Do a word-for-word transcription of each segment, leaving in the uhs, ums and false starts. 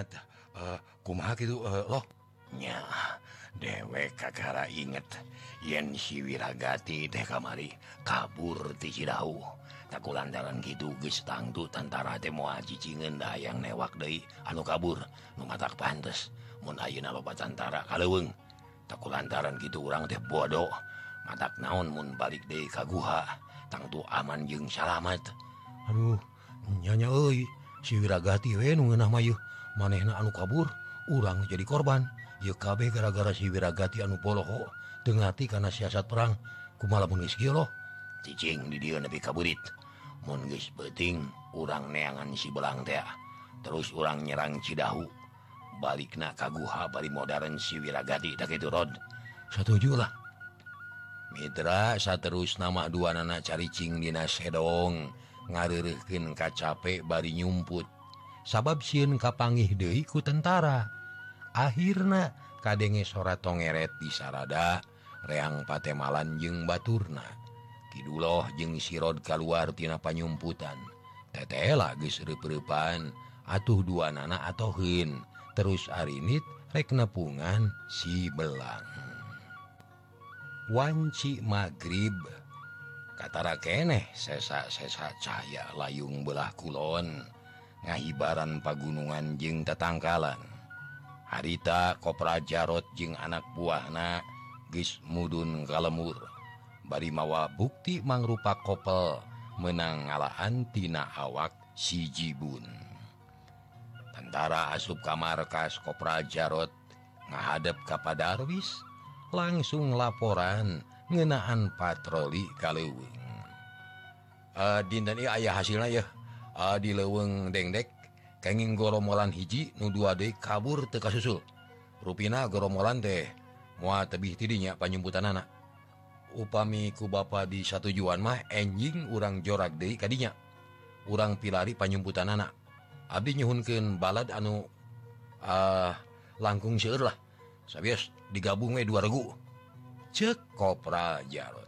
ingat eh, kumaha gitu eh, loh nya dewek kakara inget yen si Wiragati teh kamari kabur ti Cidahu takulantaran gitu geus tangtu tentara teh moal cicingeun da yang newak deui anu kabur nu matak pantes mun ayeuna loba tentara kaleuweung takulantaran gitu urang teh bodoh matak naon mun balik deui ka guha tangtu aman jeung salamet. Aduh nyanya euy si Wiragati we nu ngeunah mah yeuh manehna anu kabur urang jadi korban. Ieu kabeh gara-gara si Wiragati anu poloho teu ngati kana siasat perang kumaha lamun geus kieu loh. Cicing di dieu nepi kaburit mun geus beuting urang neangan si belang teh terus urang nyerang Cidahu balikna ka guha bari modern si Wiragati da kitu Rod. Satuju lah. Mitra saterus nama dua nana caricing dina sedong ngareureuhkeun ka capek bari nyumput Sabab sieun kapanggih deui ku tentara. Akhirna kadenge sora tongeret di sarada reang patemalan jeung baturna. Kiduloh jeung sirod kaluar tina panyumputan. Tetela geus reup-reupan atuh dua nana atoheun. Terus arinit rek nepungan si belang. Wanci magrib katara keneh sesa-sesa cahaya layung belah kulon ngahibaran pagunungan jeung tetangkalan. Harita Kopra Jarot jeung anak buahna geus mudun kalemur bari mawa bukti mangrupa kopel meunang ngalaan tina awak si Jibun. Tentara asup ka markas Kopra Jarot ngahadep ka Padarwis langsung laporan ngeunaan patroli kaleuweung. Uh, dinten ieu aya hasilna yeuh. Uh, di leuweung Dengdek kenging goromolan hiji nu dua deui kabur teu kasusul. Rupina goromolan teh moal tebih ti dinya panyumputanana. Upami ku bapa di satujuan mah enjing urang jorak deui ka dinya. Urang pilari panyumputanana. Abdi nyuhunkeun balad anu uh, langkung seueur lah. Sabios digabung we dua regu. Ceuk Kopra Jarot.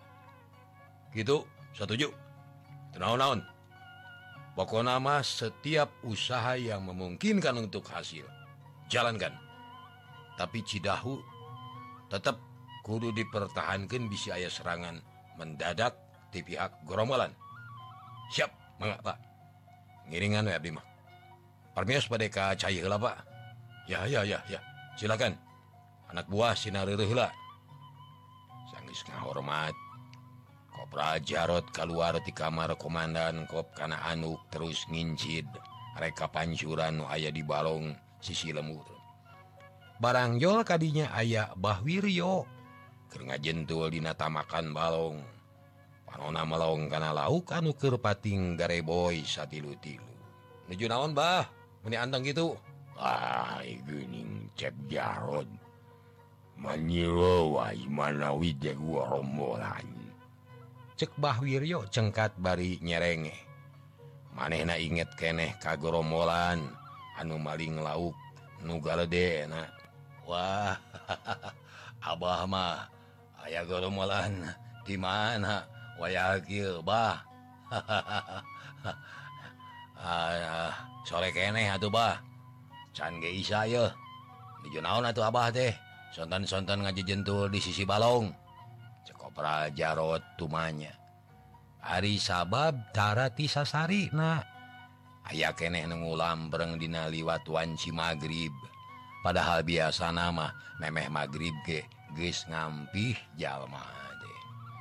Gitu, setuju. Teu naon-naon. Pokoknya mah setiap usaha yang memungkinkan untuk hasil, jalankan. Tapi Cidahu tetap kudu dipertahankan bisa aya serangan mendadak di pihak gerombolan. Siap, mangga Pak. Ngiringan we abdi mah. Parmios pada ka cai heula Pak. Ya, ya, ya, ya. Silakan. Anak buah sinareureun heula. Sanggeus ngahormat Kopra Jarot keluar di kamar komandan Kop kana anuk terus ngincid reka pancuran nu aya di balong sisi lemur. Barang jol kadinya aya Bahwiryo keur ngajentul dina tamakan balong. Panonna melong kana lauk anu keur pating gareboy satilu-tilu. Nuju naon Bah? Meni anteng gitu. Ah, geuning cek Jarot. Manilo wae manawi teh gorombolan. Cek Bahwiryo cengkat bari nyerenge. Manehna inget keneh ka gorombolan anu maling lauk nu galedena. Wah, Abah mah aya gorombolan di mana? Waya kieu Bah. Ah, sore keneh atuh Bah. Can ge isa yeuh. Nuju naon atuh Abah teh? Sontan-sontan ngajejentul di sisi balong. Kopra Jarot tumanya. Ari sabab tara ti sasarina. Aya keneh nu ngulambreng dina liwat wanci magrib. Padahal biasa nama memeh magrib ge geus ngampih jalma teh.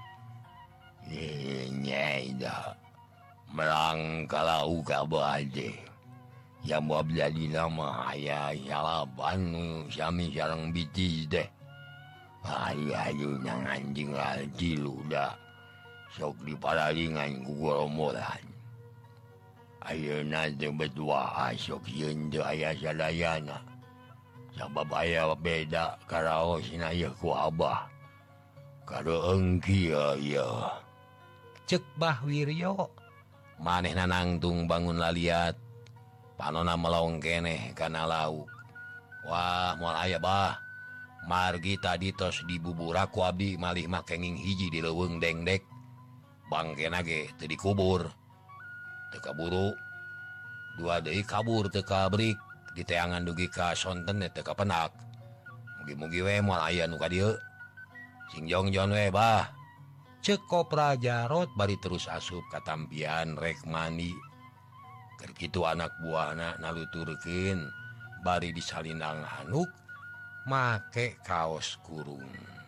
Ye nyai da. Merang kalau ka bade. Yang mau jadi nama aya yalaban nu sami sareng biji teh. Ayo nang anjing lagi luda sok diparalingan ku gorombolan. Ayeuna teh berdua sok yeun teu aya sadayana. Sabab aya beda karaosna ieu ku Abah. Kareung kieu ieu. Cek Bahwiryo. Manehna nangtung bangun laliat. Panonna melong keneh kana lauk. Wah, moal aya Bah. Margi tadi tos dibubura ku abdi malih mah kenging hiji di leuweung Dengdek. Bangkena ge teu dikubur. Teu kaburu. Dua deui kabur teu kabrik. di teangan dugi ka sonten teu kapenak. Mugi-mugi we moal aya nu ka dieu. Sing jongjon we bah. Ceuk Kopra Jarot bari terus asup ka tampian rek mandi. Keur kitu anak buahna naluturkeun bari disalindang handuk make kaos kurung.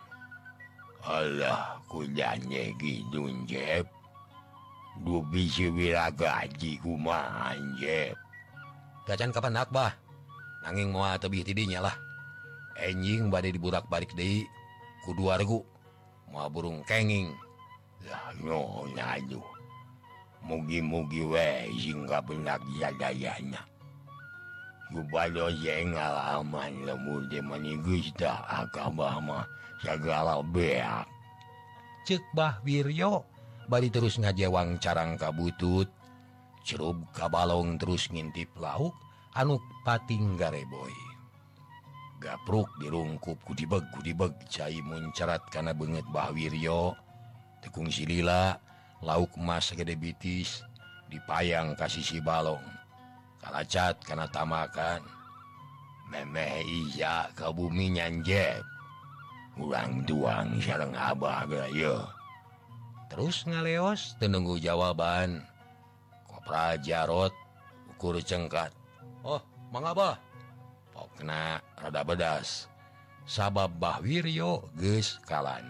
Alah kudanya gitu Jeb. Du bisi wiragaji kumaha Jeb. Gacan kapenak bah. Nanging moal tebih tidinya lah. Enjing bade diburak-balik deui ku dua regu. Moal burung kenging. Lah no nyadu. Mugi-mugi we sing kapenak jadayana. Gubalo yang ngalaman lemur de manigus dah akabah mah segala beak. Ceuk Bah Wiryo bari terus ngajewang carang ka butut. Cerub ka balong terus ngintip lauk anu pating gareboy. Gapruk dirungkup kudibeg kudibeg cai muncarat kana beungeut Bah Wiryo. Tekung silila lauk emas gede bitis dipayang ka sisi balong. Kalacat kana tamakan. Memeh iya ka bumi nyanjep. Urang tuang sareng abah gaya. Terus ngaleos teu nunggu jawaban. Kopra Jarot ukur cengkat. Oh, Mang Abah. Pokna rada bedas. Sabab Bah Wiryo geus kalani.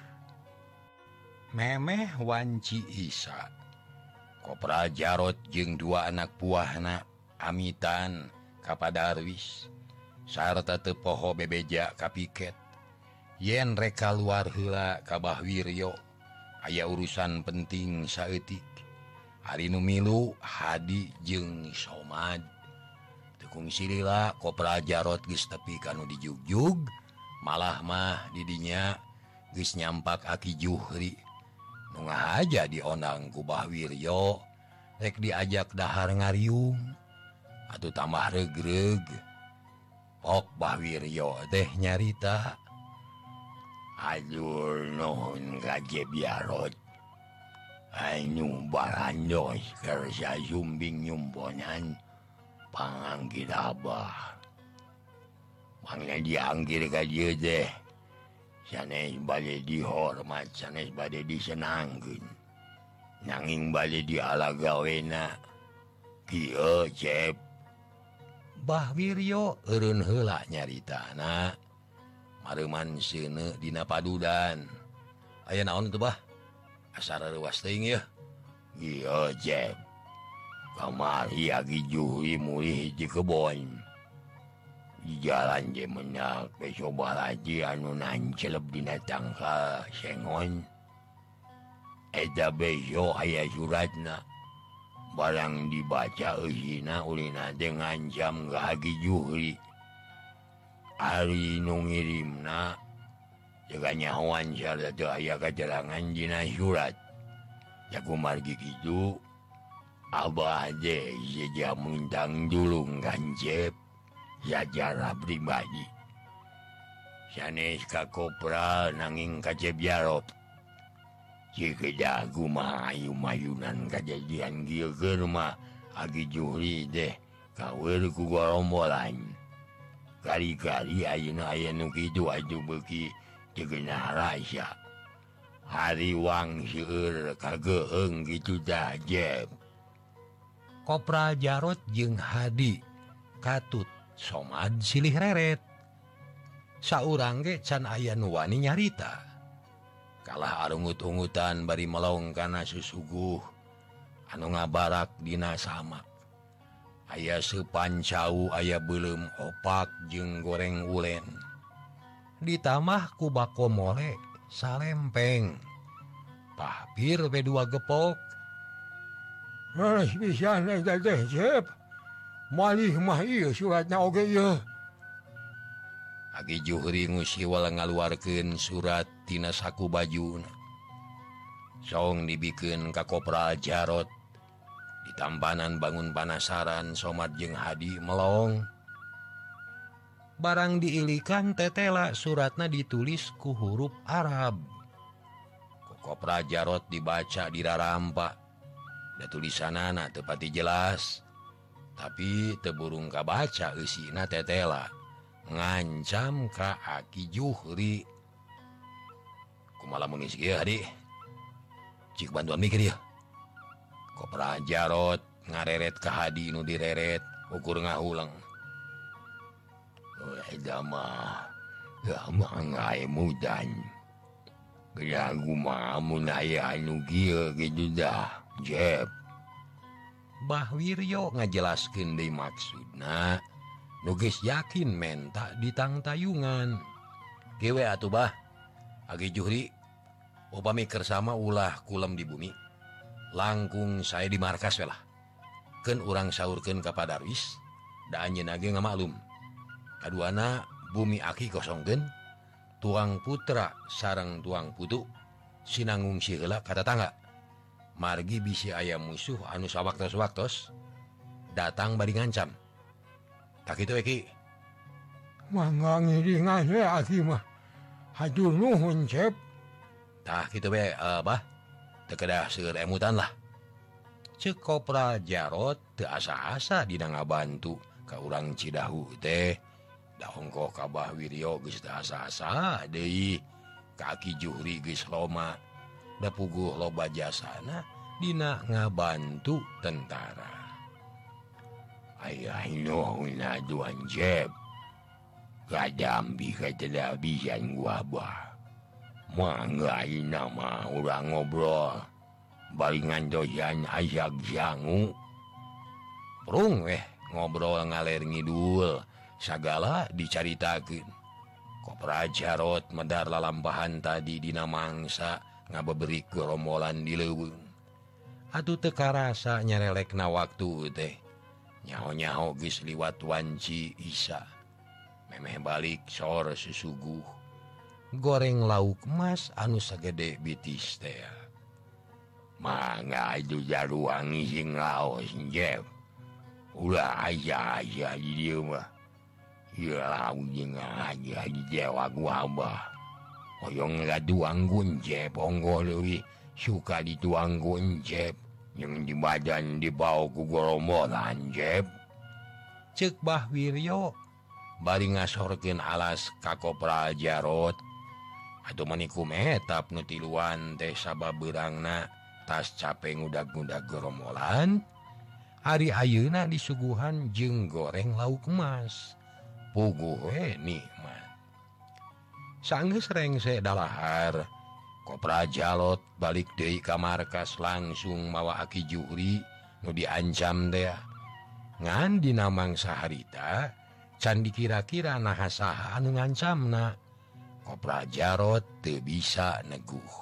Memeh wanci Isa. Kopra Jarot jeung dua anak buahna amitan ka Padarwis sarta teu poho bebeja ka piket. Yen rek kaluar heula ka Bah Wiryo aya urusan penting saeutik. Ari nu milu Hadi jeung Somad. Tekung silila Kopra Jarot geus tepi kanu dijugjug, malah mah didinya geus nyampak Aki Juhri. Nu ngahaja diondang ku Bah Wiryo rek diajak dahar ngariung atuh tambah regreg. Pok Bah Wiryo teh nyarita. Adur nuhun ka Jeb Jarot. Anu barandos kersa sumbing nyumponan panganggir abah. Mangna dianggir ka dieu teh sanes bade dihormat, sanes bade disenangkeun. Nanging bade dialagawena. Kieu Jeb. Bah Wiryo eureun heula nyaritana. Mareuman seuneu dina padudan. Aya naon teu Bah? Asa reuwas teuing yeuh. Ieu Jeb. Kamari Aki Juhri mulih hiji kebon. Di jalan je menak pesoba laji anu nancelep dina tangka sengon. Eta beso aya suratna. Barang dibaca eusina ulina teh ngancam ka Aki Juhri. Ari nu ngirimna jaga nyahoan sarta teu aya katerangan dina surat. Jaku margi kitu abah teh seja muntang dulung kan Jeb. Secara pribadi. Sanes ka Kopra nanging ka Jeb Jarot. Cikedah kumaha ayu-mayunan kajadian kieu keur mah Aki Juhri teh kaweur ku gorombolan. Kali-kali ayeuna aya nu kitu atuh beuki teu geunah rasa. Hariwang seueur kageheung kitu tah Jeb. Kopra Jarot jeung Hadi katut Somad silih reret. Saurang ge can aya nu wani nyarita. Kalah arungut-ungutan bari melong kana susuguh anu ngabarak dina samak. Aya sepancau aya beuleum opak jeung goreng ulen. Ditamah ku bako mole salempeng. Pahpir we dua gepok. Manes pisan eta teh Jeb. Malih mah ieu suratna oge ieu. Aki Juhri ngusiwal ngaluarkeun surat tina saku bajuna. Song dibikeun ka Kopra Jarot. Ditampanan bangun panasaran Somad jeung Hadi melong. Barang diilikan tetela suratna ditulis ku huruf Arab. Ku Kopra Jarot dibaca dirarampa. Da tulisanana teu pati jelas. tapi teburung kabaca eusina tetela ngancam ka Aki Juhri. Kumaha mun geus kieu hadi? Cik bantuan mikir ya. Kopra Jarot ngareret ka hadi nu direret ukur ngahulang. Eta mah gamah ngae mudan. Geragu mah mun aya anu kieu kitu dah, Jep. Bah Wiryo ngajelaskeun deui maksudna, nu geus yakin menta ditang tayungan. Kieu we atuh Bah, Aki Juhri, upami kersama ulah kulem di bumi, langkung saya di markas we lah. Keun urang saurkeun ka Padarwis, da anjeunna ge ngamaklum. Kaduana bumi Aki kosongkeun, tuang putra sareng tuang putu sinanggung si heula ka tetangga. Margi bisi aya musuh anu sawaktos-waktos datang bari ngancam. Tak kitu Eki. Mangga ngiringan we Aki mah. Hatur nuhun Cep. Tah kitu we uh, Bah. Teu kedah seueur emutan lah. Ceuk Kopra Jarot teu asa-asa dina ngabantu ka urang Cidahu teh. Da hongkoh ka Bah Wiryo geus teu asa-asa deui. Ka Aki Juhri geus loma. Da puguh loba jasana dina ngabantu tentara. Ayah nuhun aduan Jep. Kadambi katela bisan gua bah. Mangga ina mah urang ngobrol. Baringan doyan ayak jangu. Prung weh ngobrol ngaler ngidul. Sagala dicaritakeun. Kopra Jarot medar lalampahan tadi dina mangsa ngabeberik gerombolan di leuweung. Atuh teu karasa nyarelekna waktu teh. Nyaho-nyaho geus liwat wanci Isa. Memeh balik sor susuguh. Goreng lauk emas anu sagede bitis teh. Mangga itu jaruang sing laos Jep. Ulah aja-aja di dieu mah. Ya lauk jeung aja di dewa gua abah. Oyong ngaduang Jep onggo leuwih suka dituang Jep. Yang di badan dibawa ku gorombolan Jep. Ceuk Bah Wiryo bari ngasorkeun alas ka Kopra Jarot. Atuh manikum etap nu tiluan teh sababeurangna tas capek ngudag-ngudag gorombolan. Hari ayeuna disuguhan jeung goreng lauk emas. Puguh we nikmat. Sanggeus rengse dalahar, Kopra Jarot balik deui ka markas langsung mawa Aki Juhri nu diancam teh. Ngan dina mangsa harita can dikira-kira naha saha anu ngancamna. Kopra Jarot teu bisa neguh.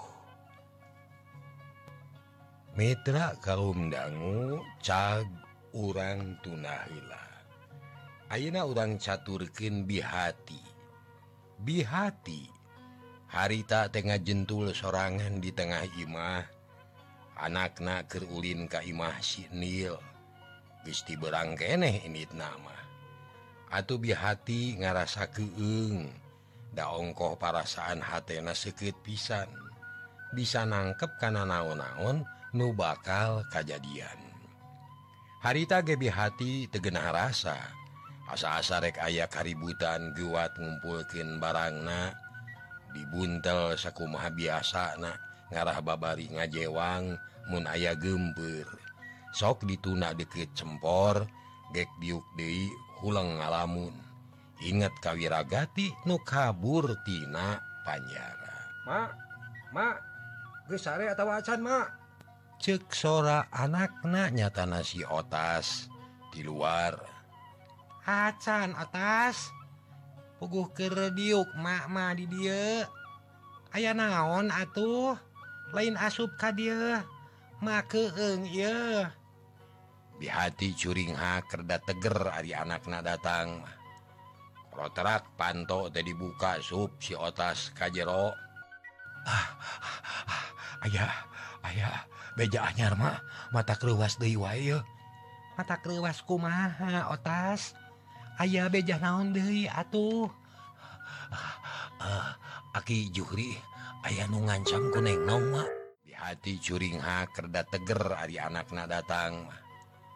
Mitra kaum dangu cag urang tuna heula. Ayeuna urang caturkeun Bihati. Bihati harita tengah jentul sorangan di tengah imah. Anakna keur ulin ka imah si Nil. Geus ti beurang keneh inditna mah. Atuh Bihati ngarasa keueung. Da ongkoh parasaan hatena seukeut pisan. Bisa nangkep kana naon-naon nu bakal kajadian. Harita ge Bihati teu geunah rasa. Asa-asa rek aya kaributan gewat ngumpulkeun barangna. Dibuntel sakumaha biasana ngarah babari ngajewang mun aya geumpeur. Sok dituna deukeut cempor, gek diuk deui hulang ngalamun. Inget kawiragati nu kabur tina panjara. Mak, mak, geus sare atawa acan mak? Ceuk sora anakna nyatana si Otas di luar. Acan Otas, puguh keur diuk mak mah di dieu. Aya naon atuh? Lain asup ka dieu. Mak keueung ieu. Bihati curing haker da teger ari anakna datang. Roterak panto teh dibuka sup si Otas ka jero. Ah, ah, aya, aya beja anyar mah, mata kreuwas deui wae yeuh. Mata kreuwas kumaha Otas? Aya beja naon deui atuh? Uh, Aki Juhri aya nu ngancam ku Neng Nong mah. Bihati curing haker da teger ari anakna datang.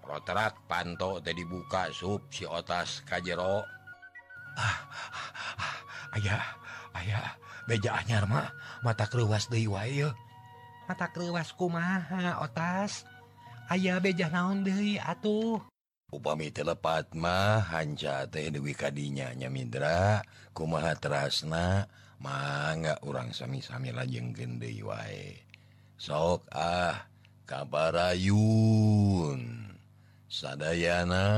roterak panto teh dibuka sup si otas kajero. Ah, ayah, ayah, beja anyar mah mata kreuwas deui wae yeuh. Mata kreuwas kumaha otas? Aya beja naon deui atuh? Upami telepat mah hanca teh deui kadinya nya Mindra, kumaha terasna mangga urang sami-sami lajengkeun deui wae. Sok ah kabarayun sadayana.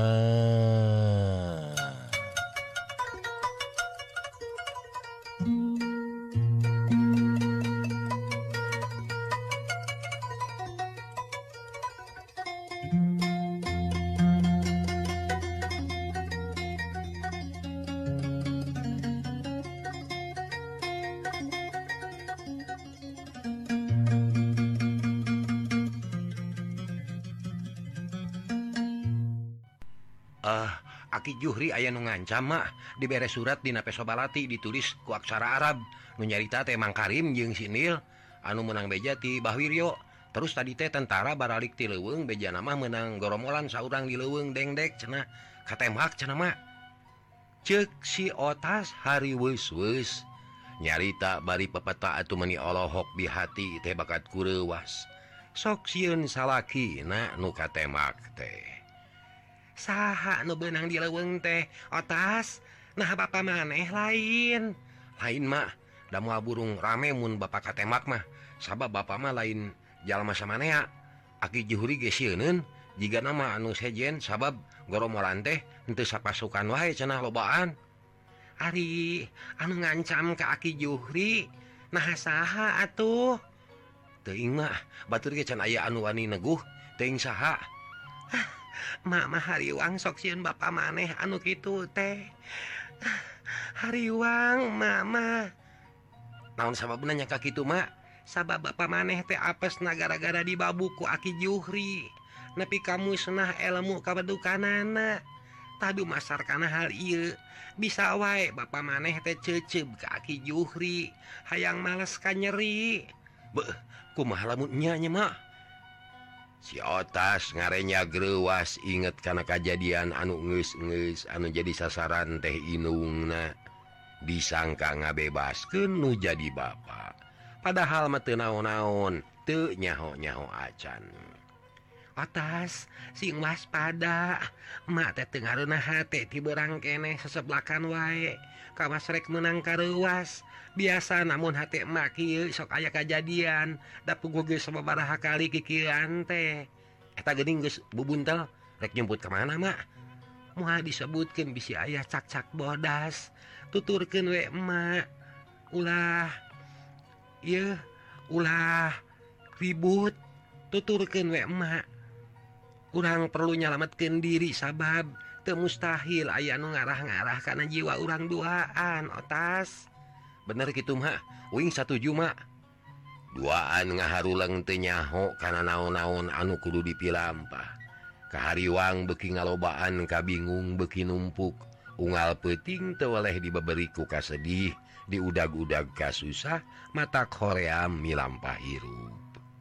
Ah, Aki Juhri aya nu ngancam mah dibere surat dina Pesobalati ditulis ku aksara Arab nu nyarita teh Mang Karim jeung Sinil anu menang beja ti Bahwiryo. Terus tadi teh tentara baralik ti leuweung beja mah menang goromolan saurang di leuweung dengdek cenah katembak cenah mah. Ceuk si otas hari weus-weus nyarita bari pepeta atuh meuni Allahok di hati teh bakat kureuwas. Sok sieun salakina nu katembak teh. Saha nu beunang di leuweung teh otas? Nah bapa maneh lain. Lain mah da moal burung rame mun bapak katembak mah. Sabab bapa mah lain jalma samanea. Aki Juhri ge sieunun jiga nama anu sejen sabab goromolan teh henteu sapasukan wae cenah lobaan. Ari anu ngancam ka Aki Juhri nah saha atuh? Teuing mah batur ge can aya anu wani neguh teuing saha. Mak mah hariwang sok sieun bapa maneh anu kitu teh. Hariwang mak mah. Naon sababna nya ka kitu mak? Sabab bapa maneh teh apesna gara-gara dibabu ku Aki Juhri. Nepi kamu senah ilmu kabedukanana. Tadu masarkana hal ieu bisa wae bapa maneh teh ceuceub ka Aki Juhri. Hayang males ka nyeri. Beuh, kumaha lamun nya nya mak? Si otas ngarenya greuwas inget kana kajadian anu geus-geus anu jadi sasaran teh inungna. Disangka ngabebaskeun nu jadi bapa. Padahal mah teu naon-naon, teu nyaho-nyaho acan. Otas, sing waspada. Mak teh teu ngareunah hate ti beurang keneh seseblakan wae. Kawas rek meunang kareuwas. Biasa namun hati emak kieu sok aya kajadian da puguh geus sababaraha kali kikieuan teh. Eta geuning geus bubuntel rek nyebut ka mana mak? Moal disebutkeun bisi aya cak-cak bodas. Tuturkeun we emak. Ulah ieu ulah ribut. Tuturkeun we emak. Urang perlu nyalametkeun diri sabab teu mustahil aya anu ngarah-ngarah kana jiwa urang duaan otas. Bener gitu mak, uing satuju mak. Duaan ngaharuleng teu nyaho kana naon-naon anu kudu dipilampah. Kahariwang beuki ngalobaan kabingung beuki numpuk. Unggal peuting teu weleh dibaberi ku kasedih, diudag-udag ka susah, mata hoream milampah hirup.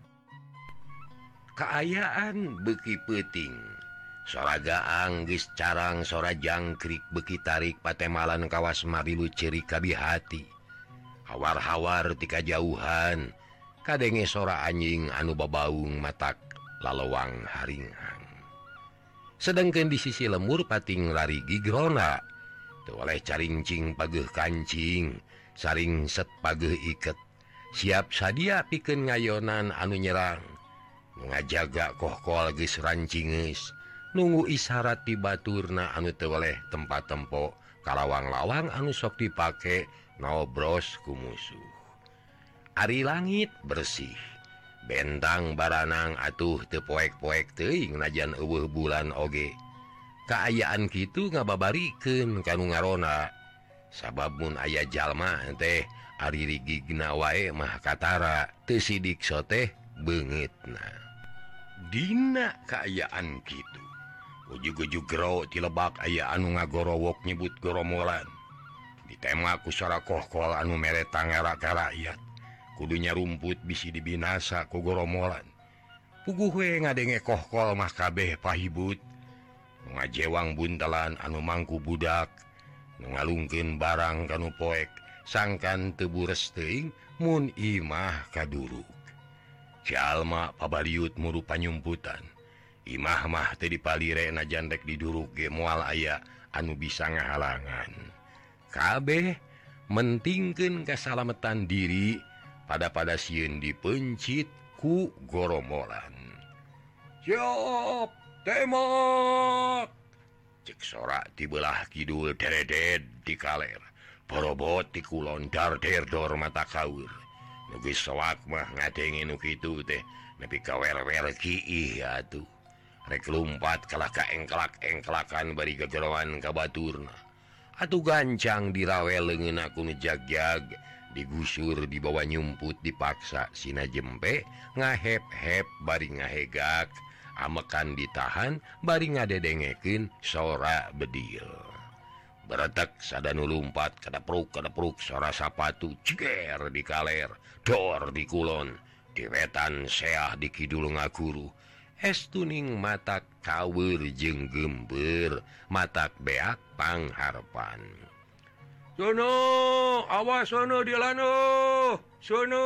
Kaayaan beuki peuting. Sora gaang geus carang sora jangkrik beuki tarik patemalan kawas marilu ceri kabi hati. Hawar-hawar ti kajauhan kadenge sora anjing anu babaung matak lalawang haringhang. Sedengkeun di sisi lemur pating lari gigrona teu oleh caringcing pageuh kancing saring set pageuh iket siap sadia pikeun ngayonan anu nyerang. Ngajaga kohkol geus rancingeus nunggu isyarat ti baturna anu teu oleh tempat-tempo kalawang-lawang anu sok dipake nobros ku musuh. Ari langit bersih, bentang baranang atuh teu poek-poek teuing najan eueuh bulan oge. Kaayaan kitu ngababarikeun kanu ngarona. Sabab mun aya jalma teh ari rigigna wae mah katara teu sidik soteh beungeutna. Dina kaayaan kitu, ujug-ujug gero ti lebak aya anu ngagorowok nyebut goromolan. Ditembak ku sora kohkol anu mere tangara ka rakyat. Kudunya rumput bisi dibinasa ku goromolan. puguhwe ngadenge kohkol mah kabeh pahibut ngajewang buntalan anu mangku budak ngalungkeun barang kanu poek sangkan teu bures teuing mun imah kaduruk jalma pabaliut muru panyumputan imah mah teu dipalire najan rek diduruk ge moal aya anu bisa ngahalangan kabeh mentingkeun kasalametan diri pada-pada sieun dipencit ku goromolan. Siap, tembak! Cek sorak di belah kidul dereded di kaler. Porobot di kulon darder dor mata kaur. Nugi soak mah ngadenge nu kitu teh. Nepi kawer-wer kiih atuh. Rek lumpat kalah ka engkelak-engkelakan bari gejeroan ka baturna. Atuh gancang dirawel leungeun aku ngejagjag. Digusur dibawa nyumput dipaksa sina jempe ngahep-hep bari ngahegak amekan ditahan bari ngadedengekeun sora bedil beretek sadanu lumpat kadapruk kadapruk sora sapatu ceger di kaler dor di kulon diwetan seah di kidul ngaguru estuning matak kaweur jeung gember matak beak pangharpan. Sono, awas sono di lano, sono.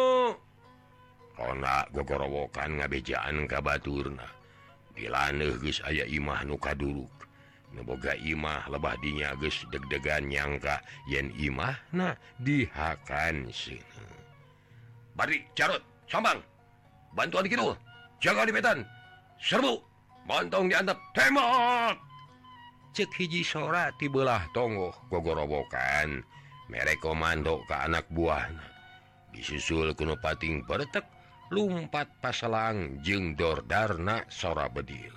Rona gogorowokan ngabejaan ka baturna. Di laneuh geus aya imah nu kaduruk. Nu boga imah lebah dinya geus deg-degan nyangka yen imahna dihakan seuneu. Bari carut, sambang. Bantuan kitu. Jaga di petan. Serbu. Montong diantep. Tembak. Cek hiji sora ti belah tonggoh gogorowokan mere komando ke anak buahna disusul kuno pating peretek lumpat paselang jeung dordarna sora bedil.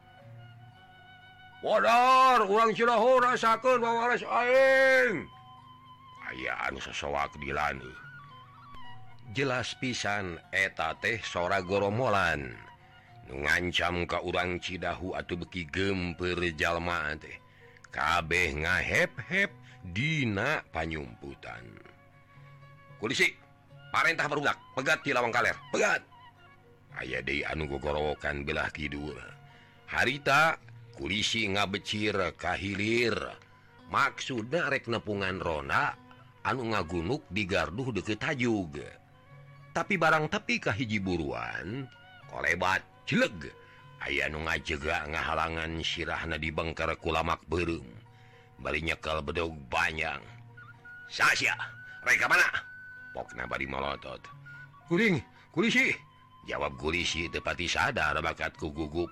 Wadar urang Cidahu rasakeun wawares aing. Aya anu sosoak di laneuh. Jelas pisan eta teh sora goromolan. Nu ngancam ka urang Cidahu atuh beki gempeur jalma teh kabeh ngahep-hep dina panyumputan. Kulisi parentah barudak pegat ti lawang kaler pegat. Aya deui anu gogorowokan belah kidul. Harita kulisi ngabecir ka hilir maksudna rek nepungan ronda anu ngagunuk di garduh deukeut tajug. Tapi barang tepi ka hiji buruan kolebat cileg aya nu ngajega ngahalangan sirahna di bengker kulamak beureum bari nyekel bedog banyak. Sasya rek ka mana? Pokna bari molotot. Kuring kulisi jawab kulisi teu pati sadar bakat ku gugup.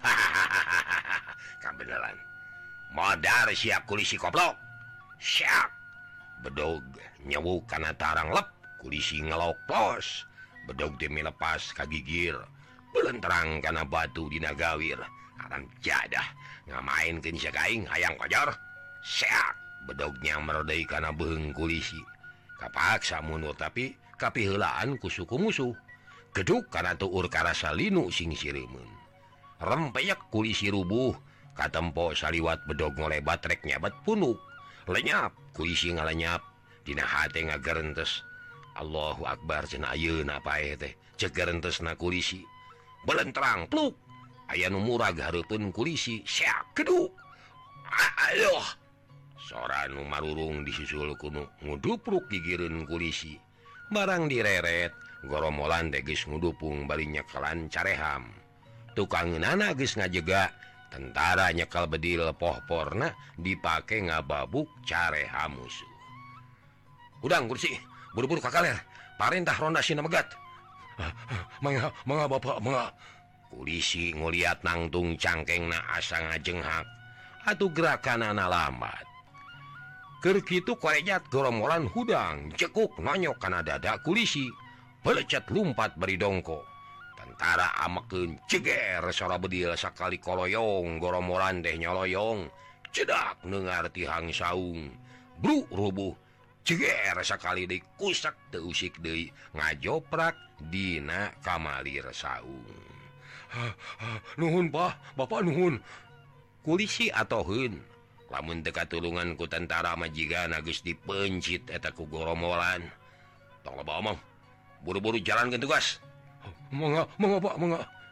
Kabeneran modar siap kulisi koplok siap bedog nyewuk kana tarang lep kulisi ngeloplos bedog demi lepas kagigir belenterang kana batu dina gawir aran jadah ngamainkeun sakaing hayang kojor seak bedognya merodai kana beung kulisi kapaksa mundur tapi kapiheulaan ku suku musuh geduk kana tuur karasa linu sing sireumeun rempeyek kulisi rubuh katempo saliwat bedog ngolebat rek nyabat punuk lenyap kulisi ngalenyap dina hate ngagerentes Allahu Akbar cenah ayeuna paeh teh ceuk gerentesna kulisi belenterang pluk aya nu murag hareupeun kulisi seak keduk ayoh sora nu marurung disusul kuno ngudupruk gigireun kulisi barang direret goromolan teh geus ngudupung bari nyekelan careham tukangeunana geus ngajega tentara nyekel bedil pohporna dipake ngababuk careham musuh. Udang kursi buru-buru ka kaler parentah ronda sina megat. Mangga, mangga bapak, mangga. Kulisi ngoliat nangtung cangkengna asa ngajenghak. Atuh gerakanana lambat. Keur kitu korejat goromolan hudang cekuk nonyok kana dada kulisi. Pelecet lumpat bari dongko. Tentara amekeun ceger sora bedil sakali koloyong goromolan teh nyoloyong. Cedak neungar tihang saung. Bru rubuh. Ceger sakali deui kusak teu usik deui ngajoprak dina kamalir saung. Nuhun Pak, Bapak nuhun. Kulisi atoheun. Lamun teu katulungan ku tentara majigana geus dipencit eta ku goromolan. Tong loba omong. Buru-buru jalankeun tugas. Mangga, mangga Pak, mangga.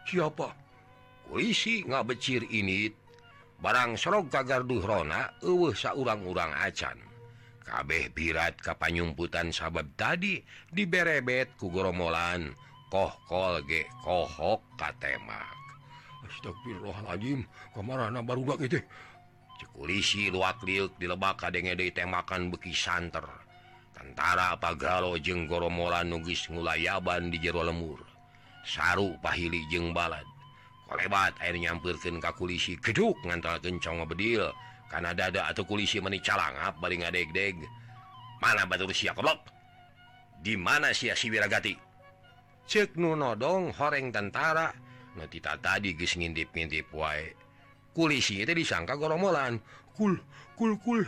siapa polisi nggak becir ini barang serog kagarduhrona eueuh saurang-urang acan kabeh birat kapanyumputan sabab tadi diberebet ku goromolan kohkol ge kohok katemak. Astagfirullahaladzim, kamarana barudak itu. Cek polisi luak liuk dilebak kadenge deui temakan beki santer. Tentara pagalo jeung goromolan nugis ngulayaban di jero lemur. Saru pahili jeung balad. Kolebat air nyampeurkeun ka kulisi geduk ngantalkeun congo bedil. Kana dada atuh kulisi meni calangap bari ngadeg-deg. Mana batur sia goblok? Di mana sia si Wiragati? Cek nu nodong horeng tentara. Nu tita tadi geus ngintip-ngintip wae. Kulisi teh disangka goromolan. Kul kul kul.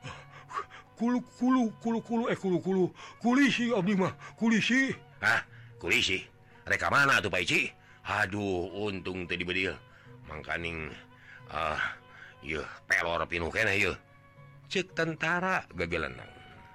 Kulu kulu kulu kulu eh kulu kulu. Kulisi abdi mah, kulisi. Hah, kulisi? Reka mana tuh Pak Ici? Aduh, untung teu dibedil. Mangkaning ah uh, yeuh pelor pinuh keneh yeuh. Cek tentara gagelenang.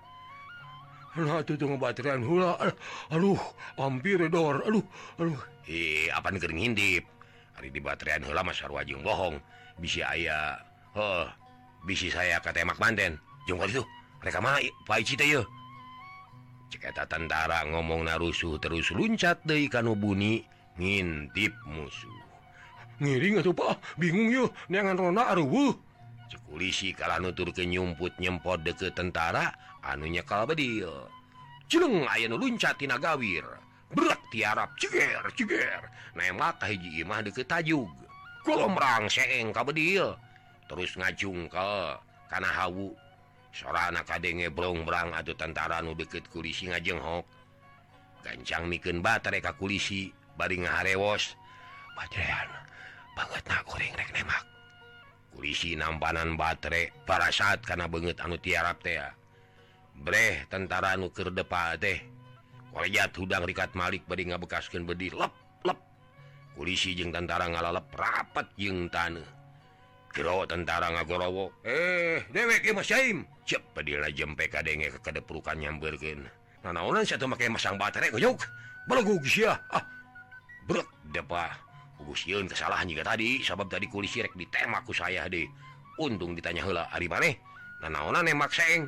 Nah, itu tuh ngebateran hula. Aduh, hampir dor. Aduh, aduh. Eh, apa keur ngintip? Ari di bateran heula mah sarua jeung bohong. Bisi aya, heuh, bisi saya ka Temak Banten. Jeung ka ditu, reka mana Pak Ici teh yeuh? Cek eta tentara ngomongna rusuh terus luncat deui ka nu buni ngintip musuh. Ngiring atuh Pak, bingung yeuh, neangan rona areueuh. Cek polisi kala nuturkeun nyumput nyempot deukeut tentara anu nyekal bedil. Jeung aya nu luncat tina gawir. Berak tiarap ceger ceger. Nemak ka hiji imah deukeut tajug. Golomrang seeng ka bedil. Terus ngajungkel kana hawu. Sorana kadenge brong-brang atuh tentara nu deukeut kulisi ngajenghok. Gancang mikeun batere ka kulisi bari ngaharewos. Baterean bangetna kuring rek nemak. Kulisi nampanan batere parasaat kana beungeut anu tiarap teh. Breh tentara anu keur depa teh. Kolejat hudang rikat Malik bari ngabekaskeun bedi lep lep. Kulisi jeung tentara ngalalep rapat jeung taneuh. Kiro tentara ngagorowo. Eh, dewek ieu mah Syaim. Cep bedilna jempe kadenge ka kadeprukan nyambeurkeun. Nanaonan sia teu make masang batere goyok. Balogug sia. Ah. Brek depa. Ugus yeun kesalahan juga tadi, sabab tadi kulisi rek ditemak ku saya deh. Untung ditanya heula ari maneh. Nanaonna nemak seng.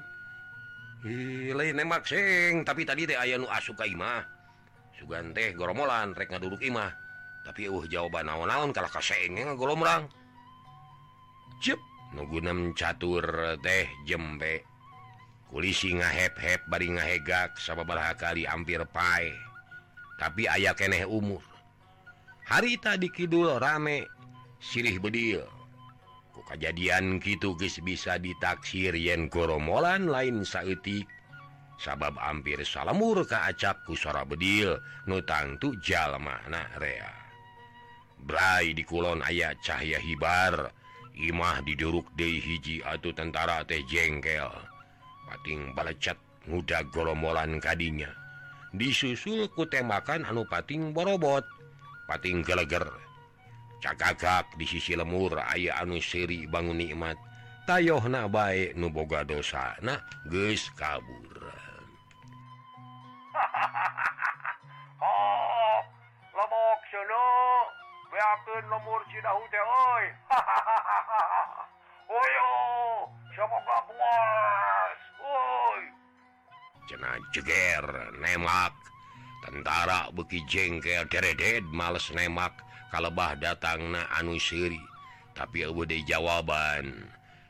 Ih, lain nemak seng, tapi tadi teh aya nu asup ka imah. Sugan teh goromolan rek ngaduduk imah. Tapi eueuh jawaban naon-naon kala ka seng ngagolomrang. Cep, nu gunem catur teh jempe. Kulisi ngahep-hep bari ngahegak sababaraha kali hampir pae. Tapi aya keneh umur. Hari tadi kidul rame silih bedil. Ku kajadian kitu geus bisa ditaksir yen goromolan lain saeutik. Sabab hampir salemur ka acap ku sora bedil nu tangtu jalmana rea. Brai di kulon aya cahya hibar. Imah diduruk deui hiji atuh tentara teh jengkel. Pating balecet ngudag goromolan kadinya. Disusul ku tembakan anu pating borobot. Pating geleger. Cagagak di sisi lemur aya anu seuri bangun nikmat. Tayohna bae nu boga dosana geus kabur. Oh, lomok sono. Beakeun lemur Cidahu teh euy. Oyo, semoga puas. Euy. Cenah jeger nemak. Tentara beki jengkel dereded males nemak kalebah datangna anu seuri. Tapi eueuh deui jawaban.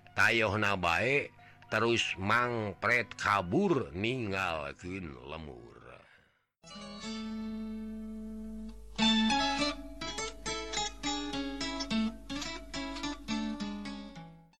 Tayohna bae terus mangpret kabur ninggalkeun lemur.